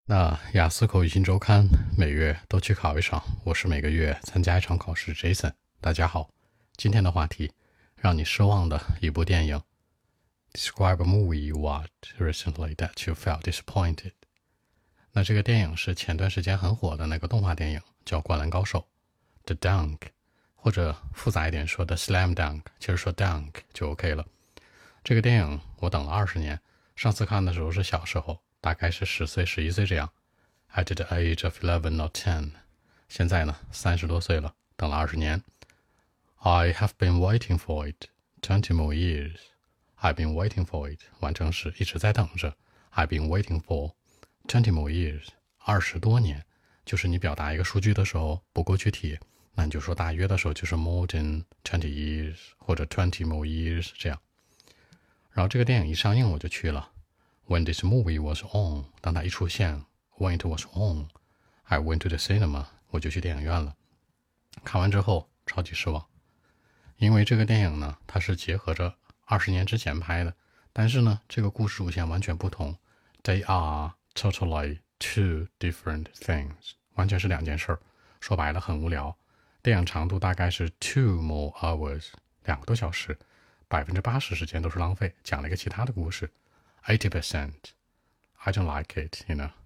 那雅思口语新周刊每月都去考一场，我是每个月参加一场考试 Jason。大家好，今天的话题，让你失望的一部电影。Describe a movie you watched recently that you felt disappointed。那这个电影是前段时间很火的那个动画电影，叫《灌篮高手》The Dunk，或者复杂一点说的 Slam Dunk，其实说 Dunk 就 OK 了。这个电影我等了20年，上次看的时候是小时候，大概是10岁、11岁这样。At the age of 11 or 10，现在呢30多岁了，等了20年。I have been waiting for it 20 more years. I've been waiting for it， 完成时一直在等着。I've been waiting for 20 more years， 20多年。就是你表达一个数据的时候不够具体，那你就说大约的时候就是 more than 20 years 或者20 more years 这样。然后这个电影一上映我就去了。When this movie was on， 当它一出现 ，When it was on， I went to the cinema， 我就去电影院了。看完之后超级失望，因为这个电影呢，它是结合着20年之前拍的，但是呢，这个故事主线完全不同。They are totally two different things， 完全是两件事儿。说白了很无聊。电影长度大概是 2 more hours， 2个多小时。80%时间都是浪费，讲了一个其他的故事。80%, I don't like it, you know.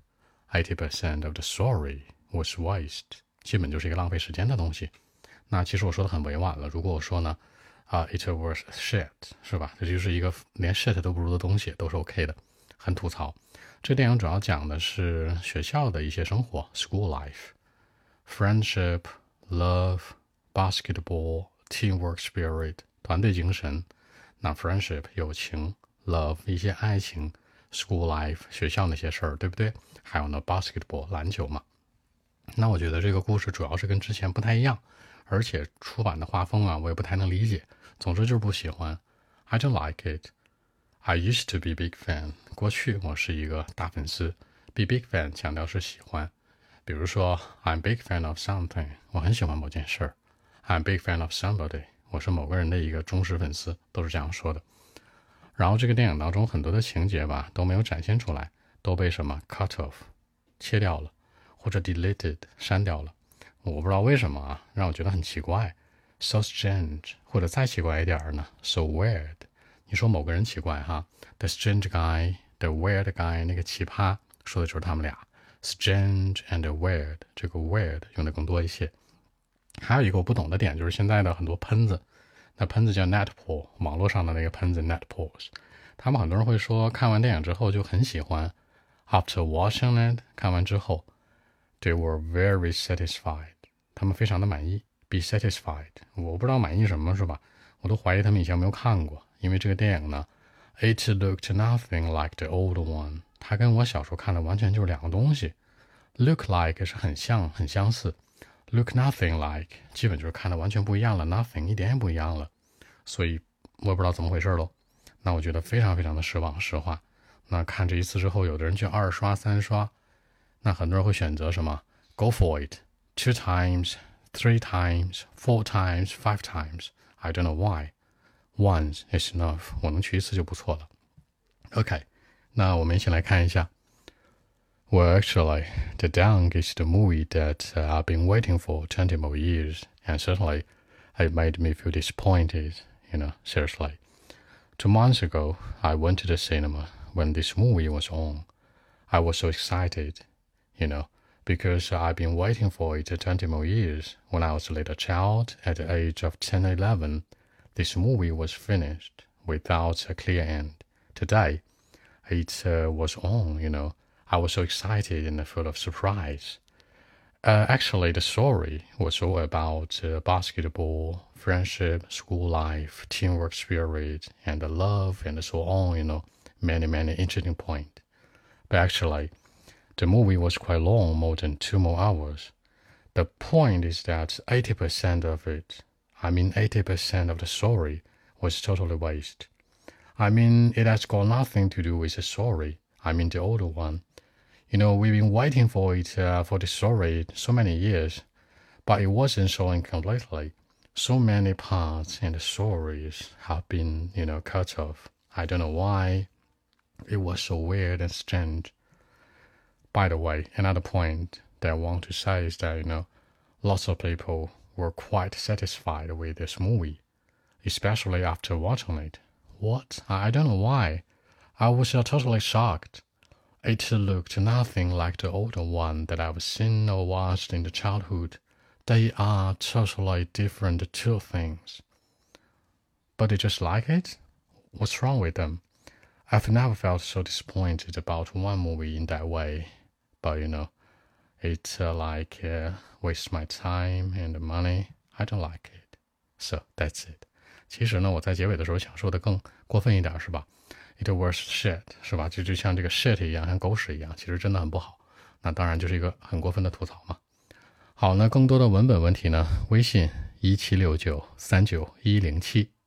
80% of the story was waste， 基本就是一个浪费时间的东西。那其实我说的很委婉了，如果我说呢，it was shit， 是吧？这就是一个连 shit 都不如的东西，都是 OK 的，很吐槽。这电影主要讲的是学校的一些生活 ，school life，friendship, love, basketball, teamwork spirit， 团队精神。那 friendship 友情 ，love 一些爱情 ，school life 学校那些事儿，对不对？还有呢 basketball 篮球嘛。那我觉得这个故事主要是跟之前不太一样，而且出版的画风啊，我也不太能理解。总之就是不喜欢。I don't like it. I used to be big fan。过去我是一个大粉丝。Be big fan 强调是喜欢。比如说 I'm big fan of something， 我很喜欢某件事儿。I'm big fan of somebody，我是某个人的一个忠实粉丝，都是这样说的。然后这个电影当中很多的情节吧都没有展现出来，都被什么 cut off 切掉了，或者 deleted 删掉了。我不知道为什么啊，让我觉得很奇怪。So strange， 或者再奇怪一点呢 ，so weird。你说某个人奇怪哈 ，the strange guy，the weird guy， 那个奇葩说的就是他们俩。Strange and weird， 这个 weird 用的更多一些。还有一个我不懂的点就是现在的很多喷子，那喷子叫 netpoll， 网络上的那个喷子 netpolls， 他们很多人会说看完电影之后就很喜欢 ，after watching it， 看完之后 they were very satisfied， 他们非常的满意 ，be satisfied， 我不知道满意什么是吧？我都怀疑他们以前没有看过，因为这个电影呢 ，it looked nothing like the old one， 它跟我小时候看的完全就是两个东西 ，look like 是很像很相似。Look nothing like 基本就是看的完全不一样了 ，nothing 一点也不一样了，所以我也不知道怎么回事喽。那我觉得非常非常的失望，实话。那看这一次之后，有的人去2刷、3刷，那很多人会选择什么 ？Go for it, 2 times, 3 times, 4 times, 5 times. I don't know why. Once is enough. 我能去一次就不错了。OK，那我们一起来看一下。Well, actually, The Dunk is the movie that I've been waiting for 20 more years, and certainly it made me feel disappointed, seriously. 2 months ago, I went to the cinema when this movie was on. I was so excited, because I've been waiting for it 20 more years. When I was a little child, at the age of 10 or 11, this movie was finished without a clear end. Today, it was on. I was so excited and full of surprise. Actually, the story was all about basketball, friendship, school life, teamwork spirit, and love, and so on, many, many interesting points. But actually, the movie was quite long, more than 2 more hours. The point is that 80% of it, 80% of the story, was totally waste. It has got nothing to do with the story. The older one. We've been waiting for it, for the story so many years, but it wasn't showing completely. So many parts in the stories have been, cut off. I don't know why. It was so weird and strange. By the way, another point that I want to say is that, lots of people were quite satisfied with this movie, especially after watching it. What? I don't know why. I was totally shocked. It looked nothing like the older one that I've seen or watched in the childhood. They are totally different two things. But you just like it? What's wrong with them? I've never felt so disappointed about one movie in that way. But it wastes my time and money. I don't like it. So that's it. 其实呢，我在结尾的时候想说的更过分一点，是吧？ It was shit， 是吧？就像这个 shit 一样，像狗屎一样，其实真的很不好。那当然就是一个很过分的吐槽嘛。好，那更多的文本问题呢，微信1769391107